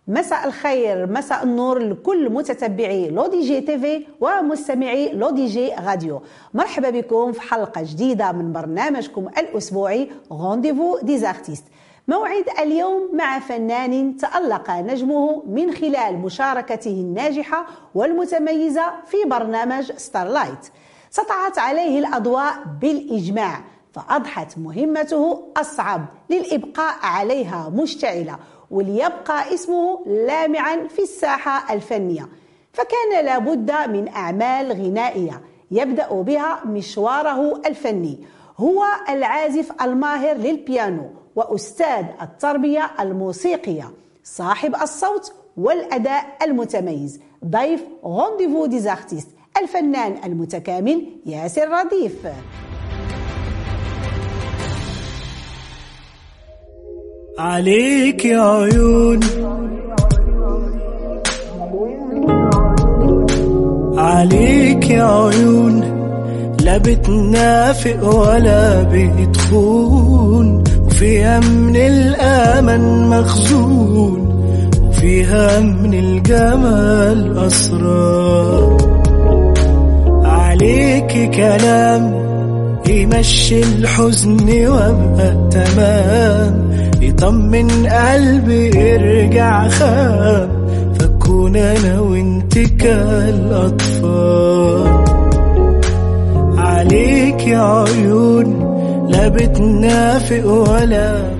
مساء الخير، مساء النور لكل متتبعي لو دي جي تيفي ومستمعي لو دي جي راديو. مرحبا بكم في حلقة جديدة من برنامجكم الأسبوعي رونديفو دي زارتيست. موعد اليوم مع فنان تألق نجمه من خلال مشاركته الناجحة والمتميزة في برنامج ستارلايت. سطعت عليه الأضواء بالإجماع، فأضحت مهمته أصعب للإبقاء عليها مشتعلة وليبقى اسمه لامعا في الساحة الفنية، فكان لابد من أعمال غنائية يبدأ بها مشواره الفني. هو العازف الماهر للبيانو وأستاذ التربية الموسيقية، صاحب الصوت والأداء المتميز، ضيف رونديفو دي زارتيست الفنان المتكامل ياسر رديف. عليك يا عيون، عليك يا عيون، لا بتنافق ولا بتخون، وفيها من الأمل مخزون، وفيها من الجمال أسرار. عليك كلام يمشي الحزن وابقى تمام، يطمن قلبي يرجع خام، فكون انا وانت كالاطفال. عليك يا عيون، لا بتنافق ولا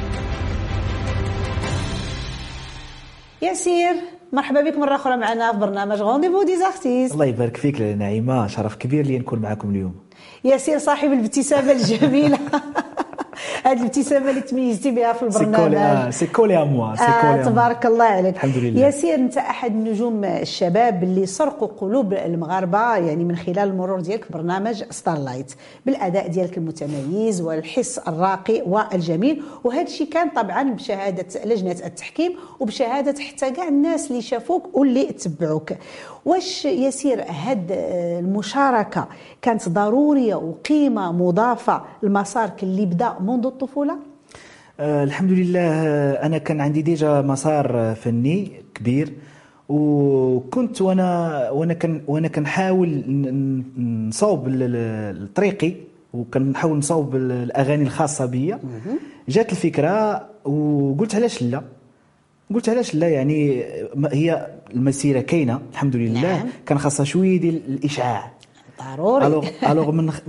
ياسير، مرحبا بك مرة أخرى معنا في برنامج رونديفو دي زارتيست. الله يبارك فيك نعيمة، شرف كبير لي نكون معكم اليوم. ياسير صاحب الابتسامة الجميلة هذه الابتسامة اللي تميزتي بها في البرنامج. سيكولي أموا تبارك الله عليك. الحمد لله. ياسير، أنت أحد نجوم الشباب اللي سرقوا قلوب المغاربة يعني من خلال المرور ديالك في برنامج ستارلايت، بالأداء ديالك المتميز والحس الراقي والجميل، وهذا الشيء كان طبعا بشهادة لجنة التحكيم وبشهادة حتى كاع الناس اللي شافوك واللي تبعوك. واش ياسير هاد المشاركة كانت ضرورية وقيمة مضافة لمسارك اللي بدأ منذ الطفولة؟ الحمد لله، أنا كان عندي ديجا مسار فني كبير، وكنت وانا كنحاول نصوب طريقي، وكنحاول نصوب الأغاني الخاصة بيا. جات الفكرة وقلت علاش لا، يعني هي المسيرة كاينة الحمد لله. نعم. كان خاصها شوية ديال الإشعاع ضروري. الوغ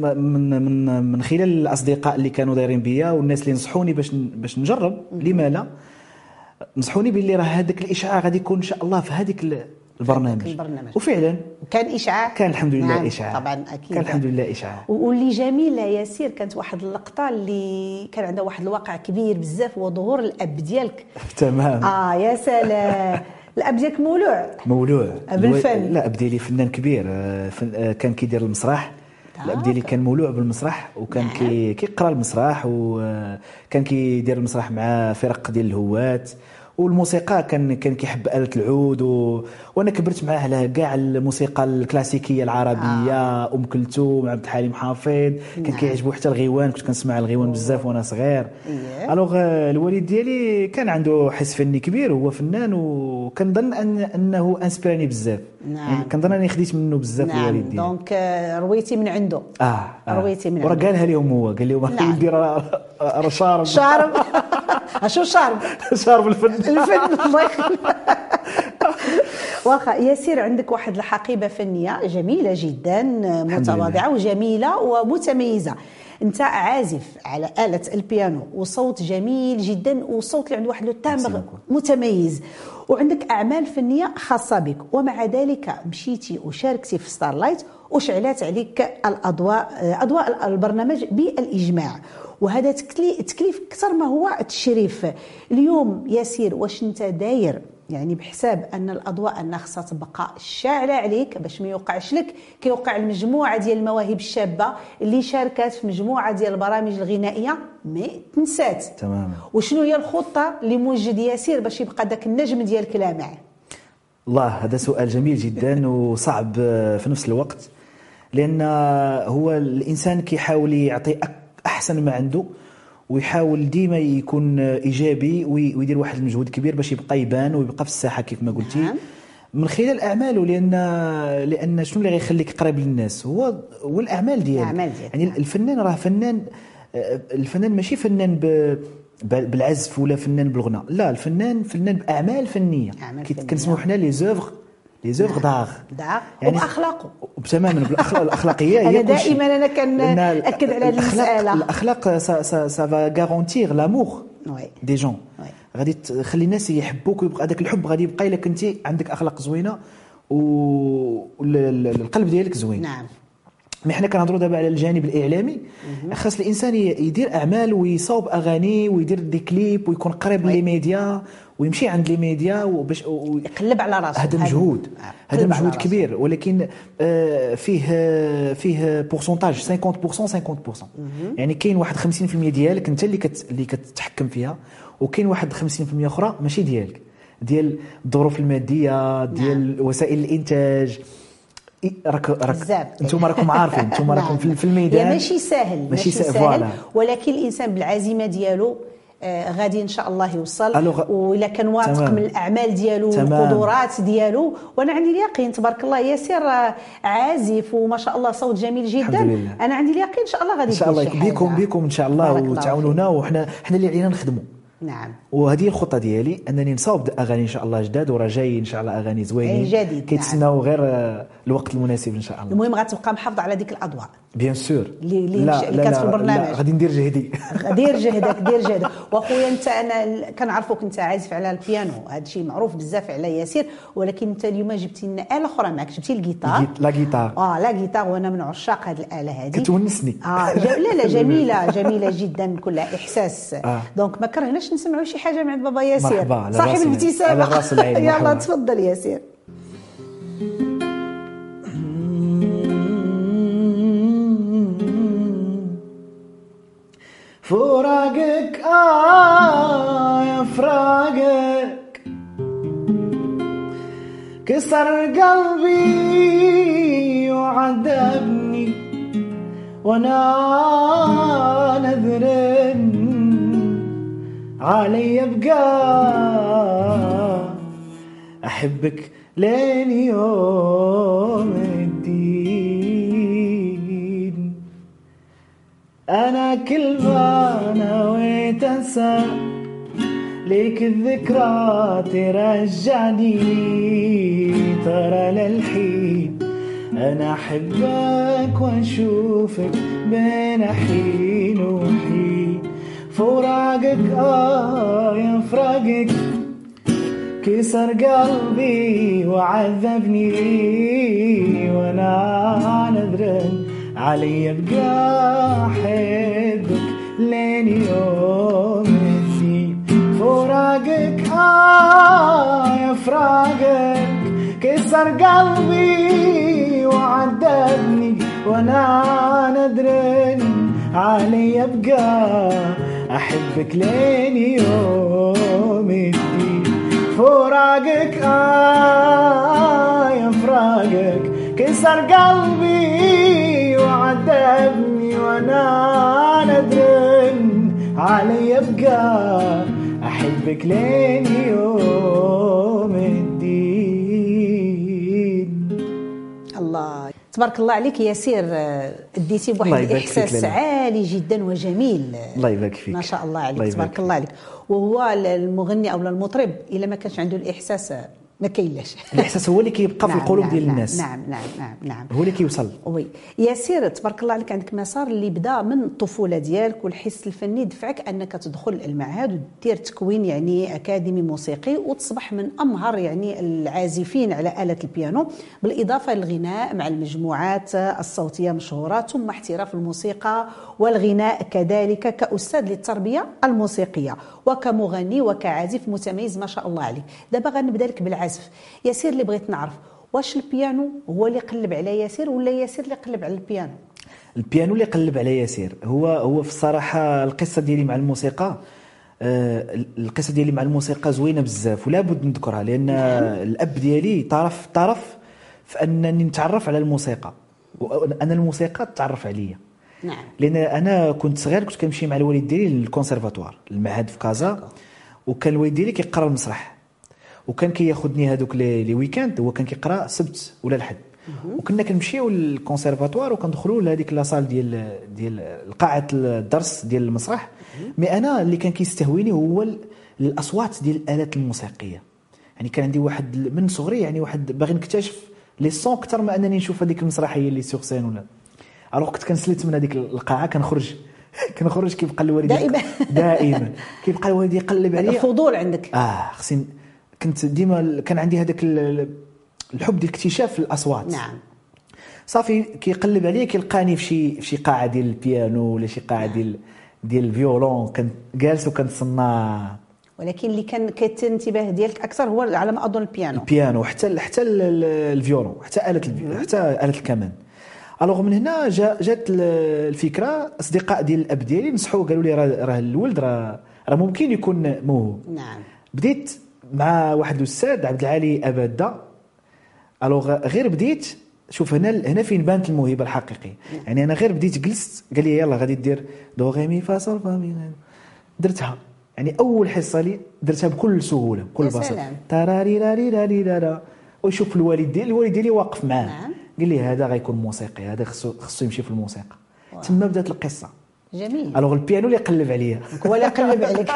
من خلال الأصدقاء اللي كانوا دايرين بيا والناس اللي نصحوني باش نجرب، لما لا، نصحوني باللي راه هذاك الإشعاع غادي يكون إن شاء الله في هذيك البرنامج. وفعلا كان إشعاع، كان الحمد لله. نعم. إشعاع طبعا أكيد كان الحمد لله إشعاع. واللي جميل ياسير كانت واحد اللقطة اللي كان عندها واحد الواقع كبير بزاف، هو ظهور الأب ديالك. تمام. يا سلام. الأب ديالك مولوع بالفن. لا، أب ديالي فنان كبير، كان كيدير المسرح. الأب ديالي كان مولوع بالمسرح، وكان كيقرا المسرح، وكان كيدير المسرح مع فرق ديال الهوات، والموسيقى كان كيحب آلة العود، وانا كبرت معاه على كاع الموسيقى الكلاسيكيه العربيه. ام كلثوم، عبد الحليم حافظ. كان كيعجبو حتى الغيوان، كنت كنسمع الغيوان بزاف وانا صغير. الوغ الوالد ديالي كان عنده حس فني كبير، هو فنان، وكنظن انه انسبيراني بزاف. نعم. يعني كنظن اني خديت منه بزاف. نعم. الوالد ديالي دونك رويتي من عنده. رويتي من عنده. وراه قالها لهم، هو قال لهم ولدي راه شارب اشو شارب الفن الله يخليك. واخا ياسير، عندك واحد الحقيبة فنية جميلة جدا، متواضعة وجميلة ومتميزة. انت عازف على آلة البيانو وصوت جميل جدا، وصوت اللي عنده واحد التامبر متميز، وعندك أعمال فنية خاصة بك، ومع ذلك مشيتي وشاركتي في ستارلايت وشعلات عليك أضواء البرنامج بالإجماع، وهذا تكليف أكثر ما هو تشريف. اليوم ياسير، واش انت داير يعني بحساب ان الاضواء انها خصها تبقى شاعله عليك باش ما يوقعش لك كيوقع المجموعه ديال المواهب الشابه اللي شاركات في مجموعه ديال البرامج الغنائيه ما تنسات تماما؟ وشنو هي الخطه اللي موجد ياسير باش يبقى داك النجم ديالك لامع؟ الله، هذا سؤال جميل جدا وصعب في نفس الوقت، لان هو الانسان كيحاول يعطي احسن ما عنده، ويحاول ديما يكون ايجابي ويدير واحد المجهود كبير باش يبقى يبان ويبقى في الساحه كيف ما قلتي. نعم. من خلال اعماله، لان شنو اللي غيخليك قريب للناس هو الاعمال ديالك. يعني الفنان راه فنان، الفنان ماشي فنان بالعزف ولا فنان بالغناء، لا، الفنان فنان باعمال فنيه كنسموه حنا لي زوفغ داغ يعني وباخلاقه تماما. الاخلاقيه هي انا دائما انا كنأكد على هذه المساله. الاخلاق سا فا غارونتير لامور دي جون، غادي تخلي الناس يحبوك ويبقى هذاك الحب غادي يبقى الا كنتي عندك اخلاق زوينه والقلب ديالك زوين. نعم. مي حنا كنهضروا دابا على الجانب الاعلامي. خاص الانسان يدير اعمال ويصاوب اغاني ويدير دي كليب ويكون قريب لي ميديا ويمشي عند لي ميديا وباش يقلب على راسه. هذا مجهود، هذا مجهود كبير، ولكن فيه بورسونتاج 50%. يعني كاين واحد 50% ديالك انت اللي كتتحكم فيها، وكاين واحد 50% اخرى ماشي ديالك، ديال الظروف الماديه، ديال وسائل الانتاج. انتم راكم عارفين، انتم راكم في الميدان. ماشي سهل ولكن الانسان بالعزيمه ديالو غادي ان شاء الله يوصل، وإلا كان واثق من الاعمال ديالو والقدرات ديالو. وانا عندي اليقين تبارك الله ياسر عازف وما شاء الله صوت جميل جدا. انا عندي اليقين ان شاء الله غادي يدير شي حاجه بكم ان شاء الله، وتعاونونا وحنا اللي علينا نخدموا. نعم. وهذه الخطه ديالي انني نصاوب اغاني ان شاء الله جداد، وراه جاي ان شاء الله اغاني زوينين كيتسناو غير الوقت المناسب ان شاء الله. المهم غتبقى محافظ على ديك الاضواء بيان سور اللي كانت في البرنامج. غادي ندير جهدي. دير جهدك. واخويا انت انا كنعرفوك انت عازف على البيانو، هذا الشيء معروف بزاف على ياسر، ولكن انت اليوم جبتي لنا آلة اخرى معك، جبتي الجيتار. لا جيتار وانا من عشاق هذه الآلة هذه، كتونسني. لا جميله جدا، كلها احساس. دونك ما كرهناش نسمعوا شي حاجه من عند بابا ياسر صاحب الابتسامه. يلا تفضل ياسر. فراقك يا فراقك كسر قلبي وعذبني، وانا نذر علي بقى احبك لين يوم الدين. انا كل ما نويت انسى ليك الذكرى ترجعني، ترى للحين انا احبك واشوفك بين حين وحين. فراقك يا فراقك كسر قلبي وعذبني، وانا ندرن علي ابقى احبك لين يوم الدين. فراقك يا فراقك كسر قلبي وعذبني، وانا ندرن علي ابقى احبك لين يوم الدين. فراقك يا فراقك كسر قلبي وعذبني، وانا ندرن علي ابقى احبك لين يوم الدين. الله تبارك الله عليك ياسر، اديتي بواحد الاحساس عالي جدا وجميل. الله يبارك فيك، ما شاء الله عليك، تبارك الله عليك. وهو المغني او المطرب الا ما كانش عنده الاحساس ما كاينلاش. الاحساس هو اللي كيبقى في القلوب ديال الناس. نعم هو اللي كيوصل. وي ياسر تبارك الله عليك، عندك مسار اللي بدا من الطفوله ديالك، والحس الفني دفعك انك تدخل المعهد ودير تكوين يعني اكاديمي موسيقي، وتصبح من امهر يعني العازفين على آلة البيانو، بالاضافه للغناء مع المجموعات الصوتيه مشهوره، ثم احتراف الموسيقى والغناء كذلك كاستاذ للتربيه الموسيقيه وكمغني وكعازف متميز ما شاء الله عليك. دابا غنبدا لك بالعزف. ياسر اللي بغيت نعرف، واش البيانو هو اللي قلب على ياسر ولا ياسر اللي قلب على البيانو؟ البيانو اللي قلب على ياسر. هو في الصراحه القصه ديالي مع الموسيقى، القصه ديالي مع الموسيقى زوينه بزاف ولا بد نذكرها، لان الاب ديالي طرف في انني نتعرف على الموسيقى، وانا الموسيقى تعرف عليا. نعم. لان انا كنت صغير كنت كنمشي مع الوالد ديالي للكونسيرفاتوار المعهد في كازا، وكان الوالد ديالي كيقرا المسرح، وكان كياخذني هذوك لي ويكاند، هو كان كيقرا السبت ولا الحد، وكنا كنمشيو للكونسيرفاتوار وكندخلوا لهذيك لاصال ديال قاعه الدرس ديال المسرح. مي انا اللي كان كيستهويني هو الاصوات ديال الالات الموسيقيه. يعني كان عندي واحد من صغري يعني واحد باغي نكتشف لي سون اكثر ما انني نشوف هذيك المسرحيه اللي سوغ سين ولا. الوغ كنت كنسلت من هذيك القاعه كنخرج كيبقى الوالد دائما كيبقى الوالد يقلب عليا. الفضول عندك؟ خصني كنت ديما كان عندي هذاك الحب ديال اكتشاف الاصوات. نعم. صافي كيقلب عليا كيلقاني في شي قاعه ديال البيانو ولا شي قاعه ديال الفيولون، كنت جالس وكنتصنع. ولكن اللي كان كيتنتبه ديالك اكثر هو على ما اظن البيانو حتى الفيولون حتى آلة الكمان. الوغ من هنا جات الفكره، اصدقاء ديال الاب ديالي نصحوا قالوا لي راه الولد راه ممكن يكون موهوب. نعم. بديت مع واحد الاستاذ عبد العالي اباده. الوغ غير بديت شوف هنا فين بانت الموهبه الحقيقيه. يعني انا غير بديت جلست قال لي يلا غادي دير دو غي مي فا صول فا مي، درتها. يعني اول حصه لي درتها بكل سهوله بكل بساطه، تاراري راري راري رارا. وشوف الوالد ديالي واقف معاه. نعم. قال لي هذا غيكون موسيقي، هذا خصو يمشي في الموسيقى. تما بدات القصه. جميل. الوغ البيانو اللي قلب عليا هو اللي قلب عليك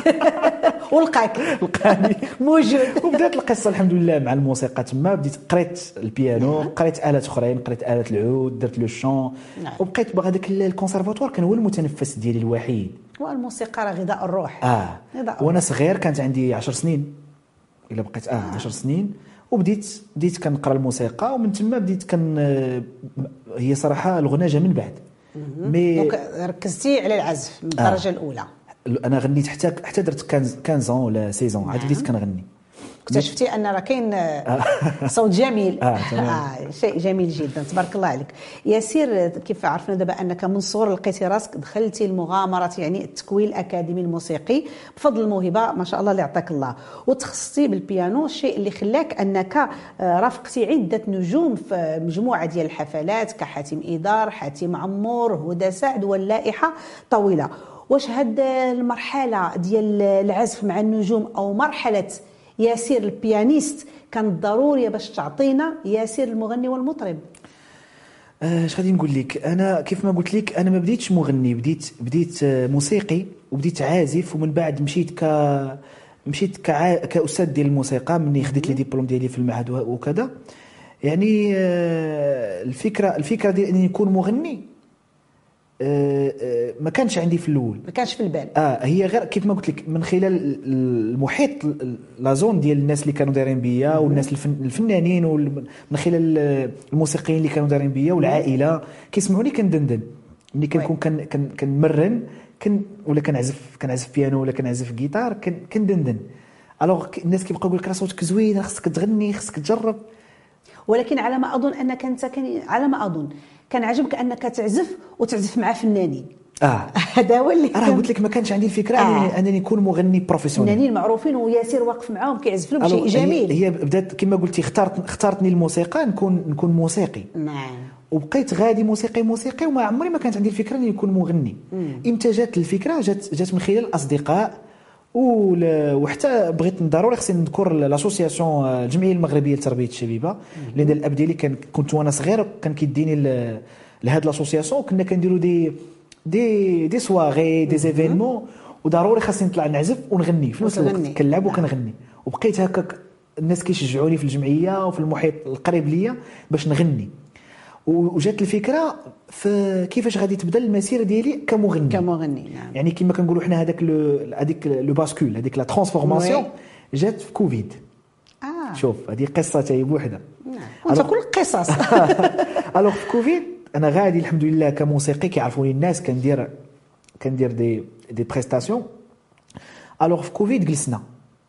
لقاني موجود. وبدات القصه الحمد لله مع الموسيقى. تما بديت قريت البيانو، قريت آلات اخرين، قريت آلة العود، درت لو شون. وبقيت باغا داك الكونسيرفاتوار كان هو المتنفس ديالي الوحيد. والموسيقى راه غذاء الروح. وانا صغير كانت عندي 10 سنين الا بقيت 10 سنين، وبديت كنقرا الموسيقى، ومن تما بديت هي صراحه الغنى جا من بعد. دونك ركزتي على العزف من الدرجه الاولى. انا غنيت حتى درت 15 ولا 16 عاد بديت كنغني. اكتشفتي ان راه كاين صوت جميل. شيء جميل جدا، تبارك الله عليك. ياسير، كيف عرفنا دابا انك من صغر لقيتي راسك دخلتي المغامره، يعني التكوين الاكاديمي الموسيقي بفضل الموهبه ما شاء الله اللي عطاك الله، وتخصصتي بالبيانو، الشيء اللي خلاك انك رافقتي عده نجوم في مجموعه ديال الحفلات كحاتم إيدار، حاتم عمور، هدى سعد، واللائحه طويله. واش هاد المرحله ديال العزف مع النجوم او مرحله ياسير البيانيست كانت ضروريه باش تعطينا ياسير المغني والمطرب؟ اش غادي نقول لك، انا كيف ما قلت لك انا ما بديتش مغني، بديت موسيقي وبديت عازف، ومن بعد مشيت كاستاذ ديال الموسيقى مني خديت لي ديبلوم ديالي في المعهد وكذا. يعني الفكره ديال اني نكون مغني ما كانش عندي في الاول، ما كانش في البال. هي غير كيف ما قلت لك من خلال المحيط لا زون ديال الناس اللي كانوا دايرين بيا، والناس الفنانين، ومن خلال الموسيقيين اللي كانوا دايرين بيا، والعائله كيسمعوني كندندن ملي كنكون كنمرن ولا كنعزف بيانو ولا كنعزف جيتار كندندن. الوغ الناس كيبقاو يقول لك راه صوتك زوين، خصك تغني، خصك تجرب. ولكن على ما اظن انك انت كان عجبك انك تعزف مع فنانين. هذا هو اللي راه قلت لك ما كانش عندي الفكره انني نكون مغني بروفيسيونيل. فنانين معروفين وياسير واقف معاهم كيعزف لهم، شيء جميل. هي بدات كما قلتي، اختارتني الموسيقى نكون موسيقي. نعم. وبقيت غادي موسيقي وما عمري ما كانت عندي الفكره اني نكون مغني. امتى جات الفكره؟ جات من خلال الاصدقاء، وحتى بغيت ضروري خصني نذكر لاسوسياسيون الجمعيه المغربيه لتربيه الشبيبه، لان الاب ديالي كنت وانا صغير كان كيديني لهاد لاسوسياسيون، كنا كنديروا دي سواغي دي زيفينمون، وضروري خاصني نطلع نعزف ونغني في نفس الوقت، كنلعب وكنغني. وبقيت هكاك الناس كيشجعوني في الجمعيه وفي المحيط القريب ليا باش نغني. وجات الفكره في كيفاش غادي تبدا المسيره ديالي كمغني. نعم. يعني كما كنقولوا حنا هذاك لو باسكول، هذيك لا ترانسفورماسيون جات في كوفيد. شوف هذه قصه تاهي بوحدها. وانت كل قصص. الوغ في كوفيد انا غادي الحمد لله كموسيقي، كيعرفوني الناس، كندير دي بريستاسيون. الوغ في كوفيد جلسنا،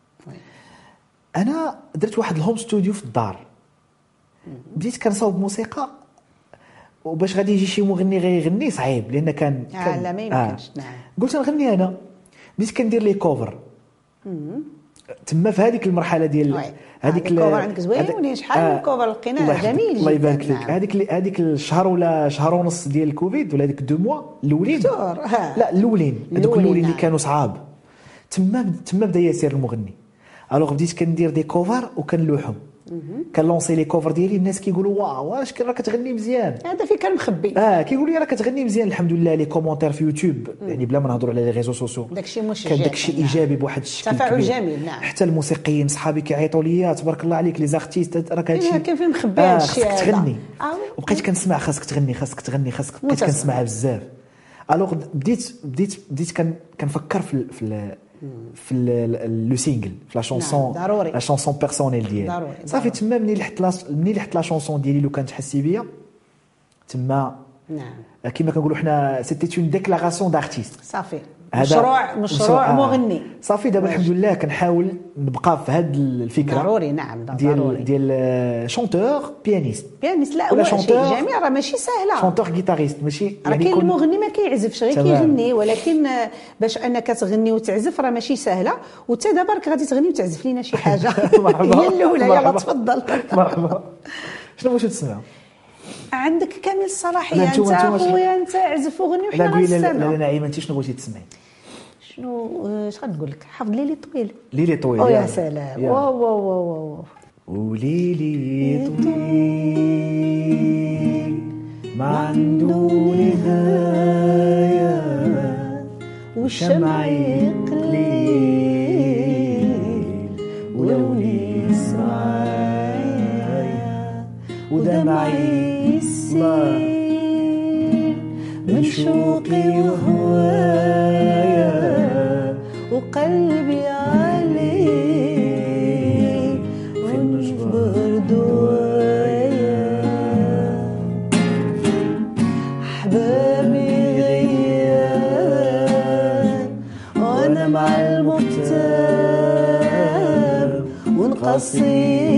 انا درت واحد الهوم ستوديو في الدار، بديت كنصاوب موسيقى، وباش غادي يجي شي مغني غير يغني صعيب، لان كان لا ما يمكنش. قلت نغني انا، بديت كندير لي كوفر. تما في هذيك المرحله ديال هذيك الكوفر عندك زوين، شحال من كوفر لقيناه جميل جدا. الله يبارك فيك. هذيك الشهر ولا شهر ونص ديال الكوفيد ولا هذيك 2 موا الاولين، لا الاولين هذوك الاولين اللي كانوا صعاب، تما بدا ياسر المغني. الوغ بديت كندير دي كوفر وكنلوحهم، كنلونسي لي كوفر ديالي، الناس كيقولوا واو واش راك كتغني مزيان، هذا فين كان مخبي. كيقولوا لي راك كتغني مزيان. الحمد لله لي كومونتير في يوتيوب يعني بلا ما نهضروا على لي ريزو سوسيو، داكشي مشجع، كان داكشي ايجابي بواحد الشكل تفاعل جميل. نعم. حتى الموسيقيين صحابي كيعيطوا لي تبارك الله عليك لي زارتيست راك هادشي كان فين مخبي هادشي خاصك تغني. وبقيت كنسمع خاصك تغني بقيت كنسمعها بزاف. الوغ بديت كنفكر في لو سينجل، في لا شونسون، لا شونسون بيرسونيل ديالي. صافي تما مني لحت لا شونسون ديالي لو كانت تحسي بيا تما. نعم. كما كنقولوا حنا سيتي اون ديكلاراسيون دارتيست. صافي مشروع مغني. صافي دابا الحمد لله كنحاول نبقى في هذه الفكره. ضروري. نعم ديال شونتور بيانيست. لا ولا شونتور جميل، راه ماشي سهله. شونتور غيتاريست ماشي يعني كاين المغني ما كيعزفش غير كيغني، ولكن باش انك تغني وتعزف راه ماشي سهله. وتا دابا راك غادي تغني وتعزف لينا شي حاجه. هي الاولى. يلا تفضل. مرحبا. شنو باش تسمع؟ عندك كامل الصلاحيه انت خويا، انت عزف وغني وحنا غنستمعوا. لا نعيمه انت شنو بغيتي تسمعي؟ اش غنقول لك؟ حافظ ليلي طويل. ليلي طويل. يا سلام. واو واو واو. وليلي طويل ما عنده نهايه، والشمع قليل ولوني معايا، ودمعي يسيل من شوقي وهوايا، وقلبي عليه ونجبر دوايا. أحبابي غياب وأنا مع المغتاب، ونقصي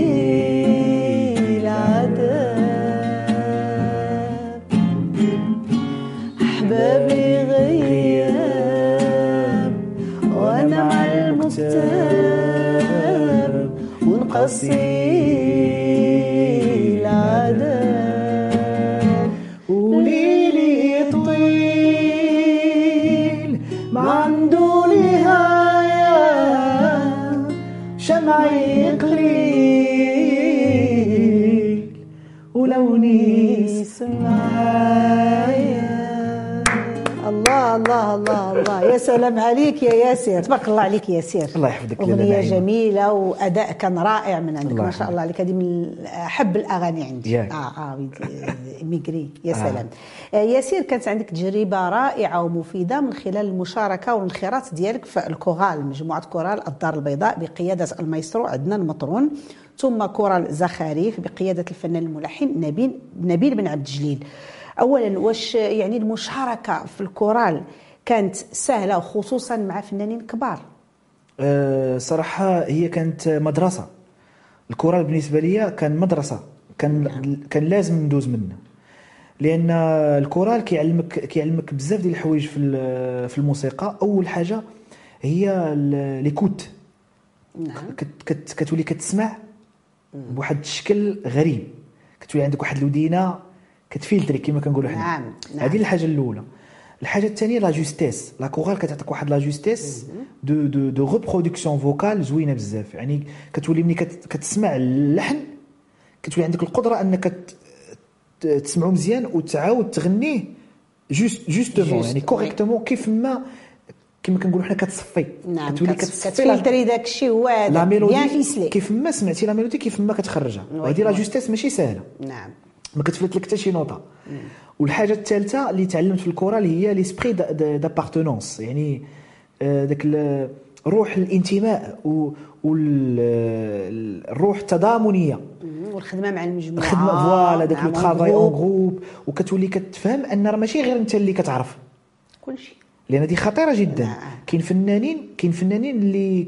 العذاب. أحبابي غياب وأنا مع المغتاب، ونقصي العذاب. وليلي طويل ما عنده نهاية، شمعي قليل ولوني سمايا. الله الله الله الله، يا سلام عليك يا ياسر، تبارك الله عليك يا ياسر. الله يحفظك. أغنية جميلة وأداء كان رائع من عندك، ما شاء الله عليك. هذه من أحب الأغاني عندي. ميغري. يا سلام. ياسر، كانت عندك تجربة رائعة ومفيدة من خلال المشاركة والانخراط ديالك في الكورال، مجموعة كورال الدار البيضاء بقيادة المايسترو عدنان مطرون، ثم كورال زخاريف بقيادة الفنان الملحن نبيل بن عبد الجليل. أولا، واش يعني المشاركة في الكورال كانت سهلة وخصوصا مع فنانين كبار؟ صراحة هي كانت مدرسة. الكورال بالنسبة لي كان مدرسة، كان لازم ندوز منه، لأن الكورال كيعلمك بزاف ديال الحوايج في الموسيقى. أول حاجة هي ليكوت. كتولي كتسمع بواحد الشكل غريب، كتولي عندك واحد الودينة كتفيلتري كما كنقولوا حنا. نعم. هذه الحاجه الاولى. الحاجه الثانيه لا جوستيس. لا كورال كتعطيك واحد لا جوستيس دو ريبرودكسيون فوكال زوينه بزاف. يعني كتولي ملي كتسمع اللحن كتولي عندك القدره انك تسمعه مزيان وتعاود تغنيه جوستومون، يعني كوريكتومون كيف ما كما كنقولوا حنا كتصفي. نعم. كتولي كتفلتري داك الشيء هو بيان فيسلي كيف ما سمعتي لا ميلودي كيف ما كتخرجها. وهذه لا جوستيس ماشي سهله. نعم. ما كتفلت لك حتى شي نوطه. والحاجه الثالثه اللي تعلمت في الكورال هي ليسبري دابارتونونس، يعني داك روح الانتماء والروح التضامنيه والخدمه مع المجموعه. الخدمه فوالا داك لو طرافاي اون جروب، وكتولي كتفهم ان راه ماشي غير انت اللي كتعرف كلشي، لان دي خطيره جدا. كاين فنانين اللي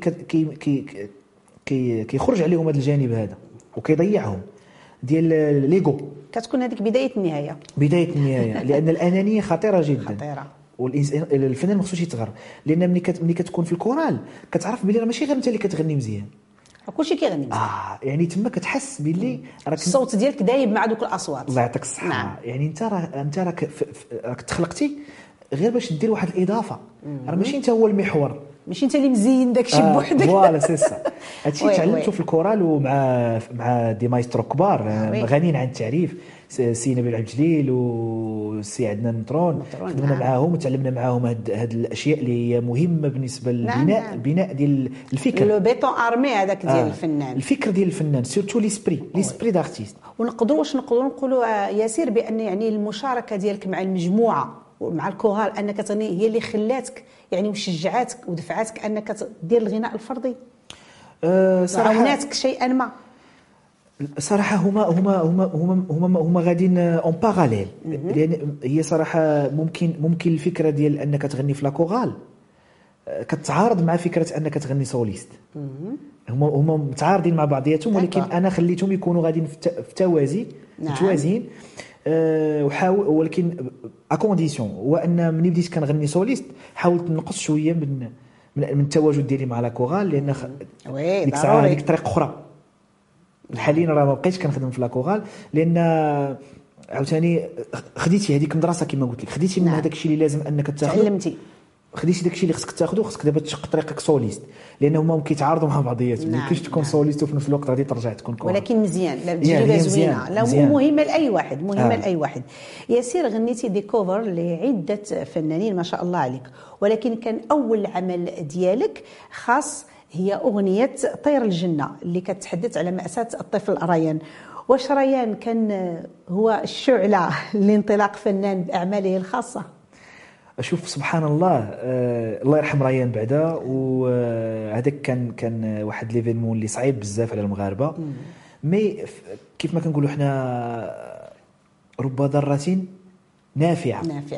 كيخرج عليهم هذا الجانب هذا وكيضيعهم ديال ليغو. كتكون هذيك بدايه النهايه لان الانانيه خطيره جدا. والانسان الفنان ما خصوش يتغر، لان ملي كتكون في الكورال كتعرف بلي راه ماشي غير انت اللي كتغني مزيان، كلشي كيغني مزيان. يعني تما كتحس باللي راك الصوت ديالك دايب مع دوك الاصوات. الله يعطيك الصحه. نعم. يعني انت راك تخلقتي غير باش دير واحد الاضافه، راه ماشي انت هو المحور، ماشي انت اللي مزين داكشي بوحدك. فوالا سي سا. هادشي وي، تعلمته وي. في الكورال ومع دي مايسترو كبار وي. غنيين عن التعريف، سي نبيل عبد الجليل وسي عدنان نطرون، خدمنا نعم. معاهم وتعلمنا معاهم هاد الاشياء اللي هي مهمه بالنسبه للبناء نعم. البناء ديال الفكر، لو بيتون ارمي هذاك ديال الفنان، الفكر ديال الفنان، سورتو ليسبري دارتيست. ونقدروا نقولوا ياسير بان يعني المشاركه ديالك مع المجموعه ومع الكورال انك تغني هي اللي خلاتك يعني وشجعاتك ودفعاتك انك دير الغناء الفردي. صراحه عاوناتك شيئا ما. صراحه هما غاديين اون باراليل، لان هي صراحه ممكن الفكره ديال انك تغني في لاكورال كتعارض مع فكره انك تغني سوليست. هما متعارضين مع بعضياتهم، ولكن انا خليتهم يكونوا غاديين في توازي متوازيين. وحاول، ولكن اكونديسيون هو ان ملي بديت كنغني سوليست حاولت نقص شويه من التواجد ديالي مع لاكورال، لان ديك الساعه ديك طريق اخرى. حاليا راه ما بقيتش كنخدم في لاكورال، لان عاوتاني خديتي هذيك المدرسه كما قلت لك، خديتي من هذاك الشيء اللي لازم انك تاخذ، تعلمتي، خديتي داك الشيء اللي خصك تاخذه، خصك دابا تشق طريقك سوليست، لان هما كيتعارضوا مع بعضياتهم. ما يمكنش تكون سوليست وفي نفس الوقت غادي ترجع تكون كورال. ولكن مزيان، لا تجربه زوينه، لا مهمه لاي واحد، مهمه لاي واحد. ياسير غنيتي دي كوفر لعده فنانين ما شاء الله عليك، ولكن كان اول عمل ديالك خاص هي اغنيه طير الجنه اللي كتحدث على مأساة الطفل ريان. واش ريان كان هو الشعله لانطلاق فنان باعماله الخاصه؟ اشوف سبحان الله، الله يرحم ريان بعدا، وهذاك كان واحد ليفينمون اللي صعيب بزاف على المغاربه. مي كيف ما كنقولوا حنا رب ضاره نافعه.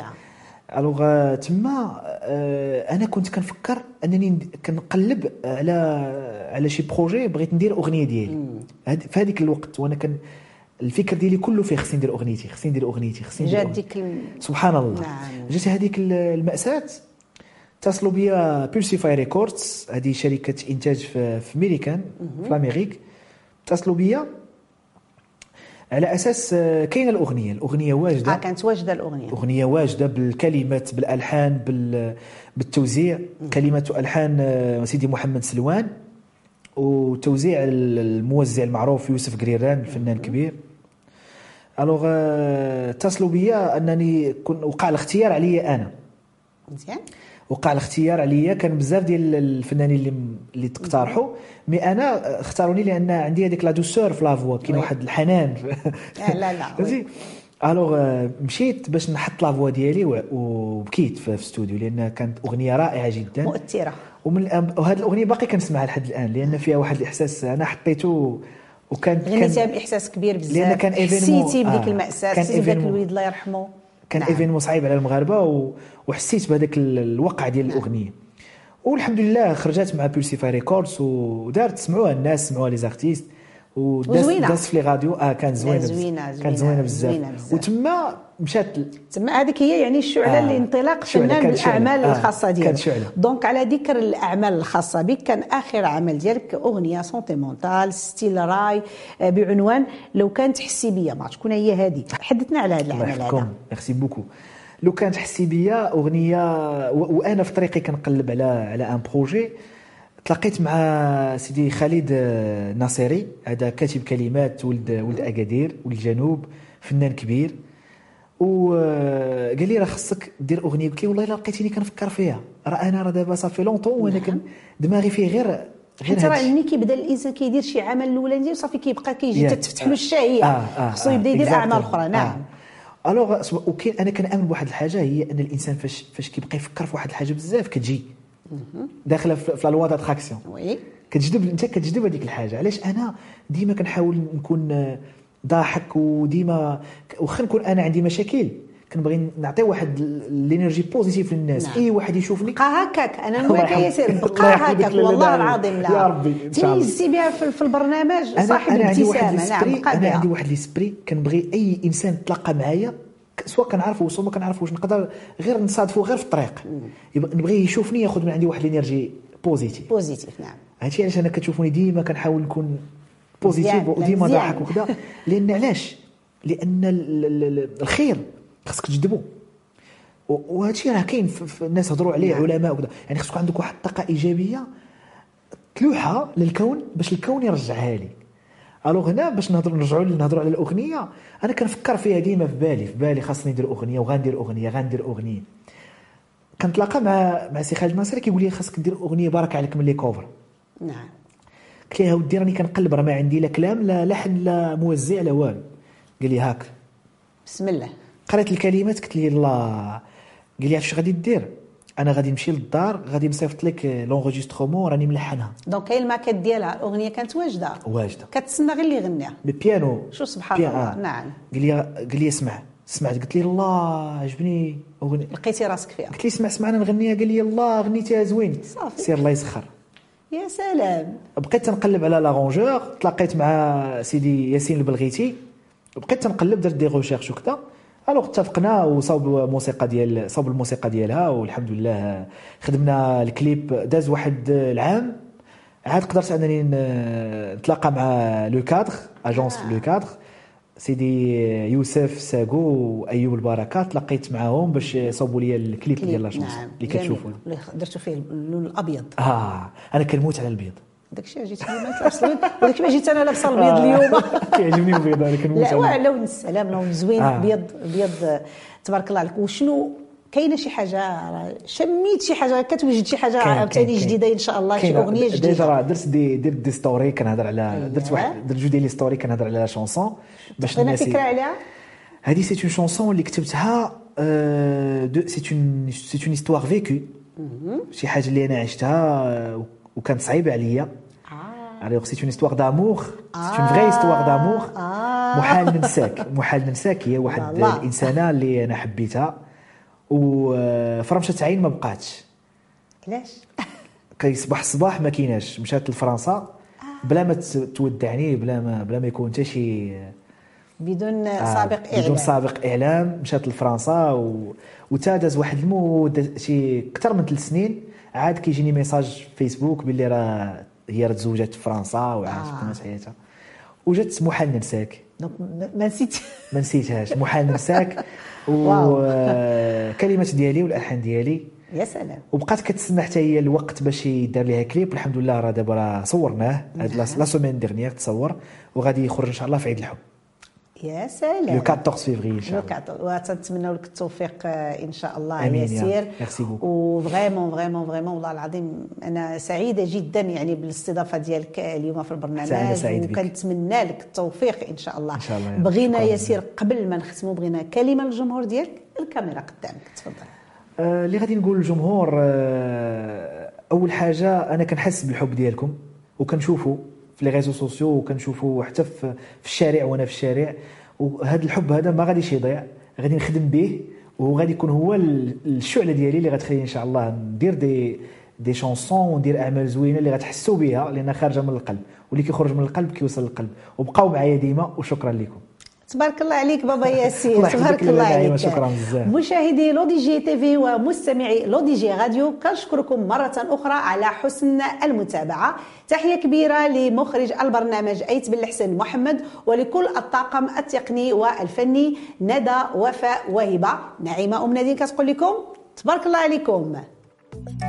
الوغ تما انا كنت كنفكر انني كنقلب على شي بروجي، بغيت ندير اغنيه ديالي في هذيك الوقت، وانا كان الفكر ديالي كله فيه خصني ندير اغنيتي. جات ديك سبحان الله. نعم. جات هذيك المأساة، اتصلوا بيا بيرسيفاي ريكوردز، هذه شركه انتاج في ميريكان في امريكا، اتصلوا بيا على اساس كاينه الاغنيه واجده. كانت واجده الاغنيه واجده بالكلمات بالالحان بالتوزيع. كلمات والحان سيدي محمد سلوان، وتوزيع الموزع المعروف يوسف قريران الفنان الكبير. الوغ اتصلوا بيا انني وقع الاختيار عليا انا. مزيان. وقع الاختيار عليا، كان بزاف ديال الفنانين اللي تقترحوا، مي انا اختاروني لان عندي هذيك لا دوسور في لافوا، كاين واحد الحنان. لا فهمتي. الوغ مشيت باش نحط لافوا ديالي وبكيت في الاستوديو، لان كانت اغنيه رائعه جدا مؤثره، وهذه الاغنيه باقي كنسمعها لحد الان، لان فيها واحد الاحساس انا حطيته، وكان غنيتها باحساس كبير بزاف، لان كان حسيتي بديك المأساة، حسيتي بداك الوليد الله يرحمه. كان ايفينمون صعيب على المغاربه، وحسيت بهذاك الوقع ديال الاغنيه. والحمد لله خرجت مع بولسيفاي ريكوردز ودارت سمعوها الناس، سمعوها لي زارتيست، وداز في لي راديو. كانت زوينه بزاف. وتما مشات تما هذيك هي يعني الشعله لانطلاق فنان بالاعمال الخاصه ديالك. دونك على ذكر الاعمال الخاصه بك، كان اخر عمل ديالك اغنيه سونتيمونتال ستيل راي بعنوان لو كانت تحسي بيا. ما شكون هي هذه؟ حدثنا على هذا العمل هذا. ميرسي بوكو. لو كانت تحسي بيا اغنيه، وانا في طريقي كنقلب على ان بروجي، تلاقيت مع سيدي خالد ناصري، هذا كاتب كلمات ولد اكادير والجنوب، فنان كبير، وقال لي راه خصك دير اغنيه. قلت له والله الا لقيتيني كنفكر فيها، انا دابا صافي لونطون وانا دماغي فيه غير ترى ملي كيبدا الانسان كيدير شي عمل الاولاني وصافي كيبقى كيجي تفتح له الشهيه، خصو يبدا يدير اعمال اخرى. نعم. الوغ وكاين، انا كنامن بواحد الحاجه، هي ان الانسان فاش كيبقى يفكر في واحد الحاجه بزاف كتجي داخله في لا لوا داتراكسيون، وي كتجذب هذيك الحاجه. علاش انا ديما كنحاول نكون ضاحك، وديما واخا نكون انا عندي مشاكل كنبغي نعطي واحد الانرجي بوزيتيف للناس. نعم. اي واحد يشوفني بقى هكاك، انا نقولك ياسر بقى هكاك والله العظيم. لا يا ربي تيزي بها في البرنامج صاحب الابتسامه. نعم بقى انا عندي واحد ليسبري، كنبغي اي انسان تلاقى معايا سواء كنعرفو سواء ما كنعرفوش، نقدر غير نصادفو غير في الطريق، نبغي يشوفني ياخذ من عندي واحد الانرجي بوزيتيف. نعم. هادشي علاش انا كتشوفوني ديما كنحاول نكون بوزيتيف وديما ضاحك وكذا. لان علاش؟ لان الخير خصك تجذبو، وهادشي راه كاين في الناس هضروا عليه علماء وكذا. يعني خصك عندك واحد الطاقه ايجابيه تلوحها للكون باش الكون يرجعها لي. الوغ هنا باش نرجعوا على الاغنيه، انا كنفكر فيها ديما في بالي خاصني ندير اغنيه وغندير اغنيه. كنتلاقى مع سي خالد ناصر كيقول لي خاصك دير اغنيه بارك عليك من لي كوفر. نعم. قلت له ودي راني كنقلب، راه ما عندي لا كلام لا لحن لا موزع لا والو. قال لي هاك بسم الله. قريت الكلمات قلت لي الله. قال لي عرفتي غادي دير؟ انا غادي نمشي للدار غادي نصيفط لك لونغيسترومون راني ملحنها. دونك كاين الماكيت ديالها، الاغنيه كانت واجده كتسنى غير اللي يغنيها بالبيانو. شو سبحان الله. نعم. قال لي اسمع سمعت. قلت لي الله عجبني اغنيه. لقيتي راسك فيها؟ قلت لي اسمع انا نغنيها. قال لي الله غنيتيها زوين. صافي سير الله يسخر. يا سلام. بقيت تنقلب على لارونجور، تلاقيت مع سيدي ياسين البلغيتي، بقيت تنقلب درت دي ريشيرش وكذا. الوغ اتفقنا وصاوب الموسيقى ديالها والحمد لله خدمنا الكليب. داز واحد العام عاد قدرت انني نتلاقى مع لو كادر اجونس لو كادر سيدي يوسف ساقو وايوب البركات. تلاقيت معاهم باش صوبوا لي الكليب ديال لا شونس اللي كتشوفوا درتو فيه اللون الابيض. انا كنموت على البيض. داكشي جيت اليوم لابسه البيض ولكن ما جيت انا لابسه البيض اليوم. كيعجبني البيض انا كنموت عليه. لا لون السلام، لون زوين. بيض تبارك الله عليك. وشنو كاينه شي حاجه شميت شي حاجه كتوجد شي حاجه عاوتاني جديده ان شاء الله، شي اغنيه جديده؟ ديجا راه درت دي ستوري كنهضر على درت جوج ديال لي ستوري كنهضر على لا شونسون باش الناس فكره عليها. هذه سي اون شونسون اللي كتبتها سي اون هيستوار فيكو، شي حاجه اللي انا عشتها وكانت صعيبه عليا. Alors c'est une histoire d'amour, c'est une vraie histoire d'amour. محال ننساك هي واحد الانسانه اللي انا حبيتها وفرمشة عين ما بقاتش. علاش؟ كيصبح الصباح ما كايناش، مشات لفرنسا بلا ما تودعني بلا ما يكون حتى شي بدون سابق اعلام. مشات لفرنسا وتادز واحد المده شي اكثر من 3 سنين. عاد كيجيني ميساج فيسبوك باللي راه هي تزوجت في فرنسا وعاشت كانت حياتها وجات محال ننساك. دونك ما نسيتهاش محال ننساك وكلمات ديالي والالحان ديالي. يا سلام. وبقات كتسنى حتى هي الوقت باش يدار ليها كليب. والحمد لله راه دابا صورناه هاد لا سومين ديرنيير تصور وغادي يخرج ان شاء الله في عيد الحب. يا سلام. لو 14 فيفري ان شاء الله. وتنتمنوا لك التوفيق ان شاء الله ياسير. وفريمون والله العظيم انا سعيده جدا يعني بالاستضافه ديالك اليوم في البرنامج، وكنتمنى لك التوفيق ان شاء الله. إن شاء الله. بغينا ياسير قبل ما نختموا بغينا كلمه للجمهور ديالك. الكاميرا قدامك تفضل. اللي غادي نقول للجمهور اول حاجه انا كنحس بالحب ديالكم وكنشوفه في لي ريزو سوسيو وكنشوفه حتى في الشارع وانا في الشارع. وهذا الحب هذا ما غاديش يضيع، غادي نخدم به وغادي يكون هو الشعله ديالي اللي غتخليني ان شاء الله ندير دي شونسون وندير اعمال زوينه اللي غتحسوا بها لانها خارجه من القلب، واللي كيخرج من القلب كيوصل للقلب. وبقاو معايا ديما وشكرا لكم. تبارك الله عليك بابا ياسين. تبارك الله عليك. شكرا بزاف. مشاهدي لو دي جي تي في ومستمعي لو دي جي راديو كنشكركم مرة أخرى على حسن المتابعة. تحية كبيرة لمخرج البرنامج أيت بن الحسن محمد ولكل الطاقم التقني والفني ندى وفاء وهبة. نعيمة نادين كتقول لكم تبارك الله عليكم.